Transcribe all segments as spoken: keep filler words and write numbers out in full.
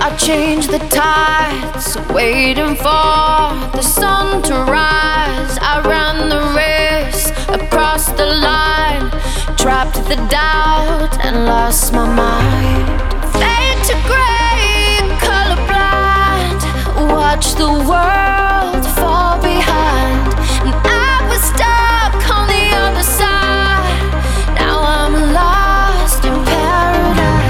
I change the tides, waiting for the sun to rise. I ran the race across the line, trapped the doubt and lost my mind. Fade to grey, colorblind, watch the world fall behind. And I was stuck on the other side. Now I'm lost in paradise.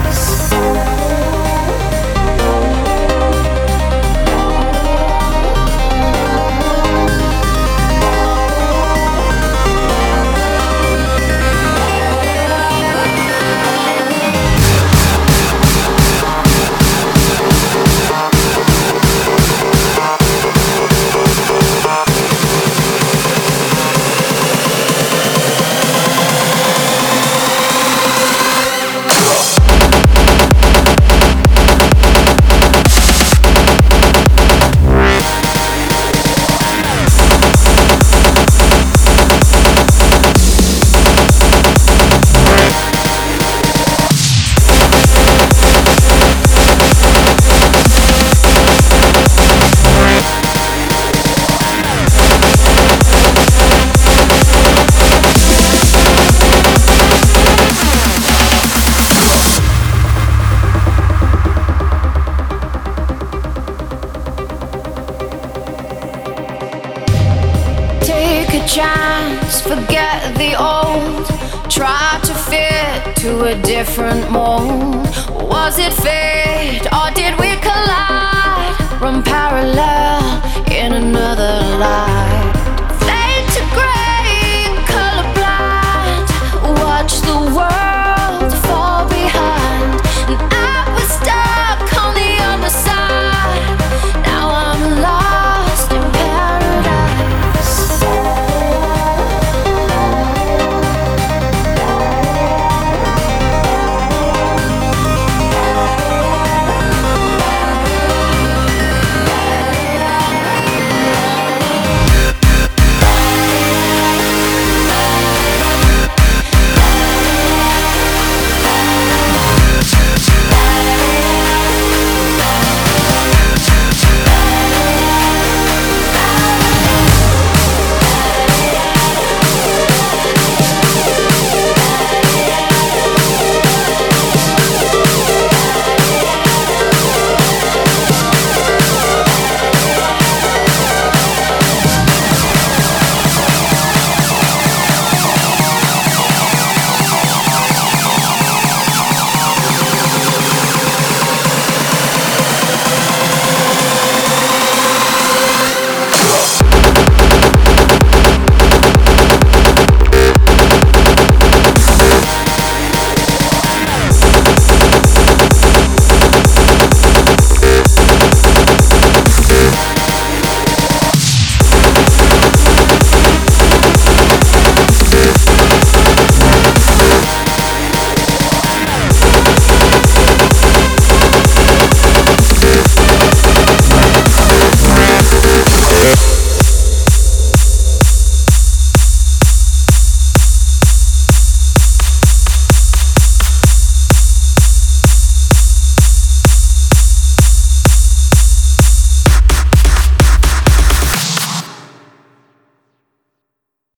Chance, forget the old, try to fit to a different mold. Was it fate or did we collide? Run parallel in another life.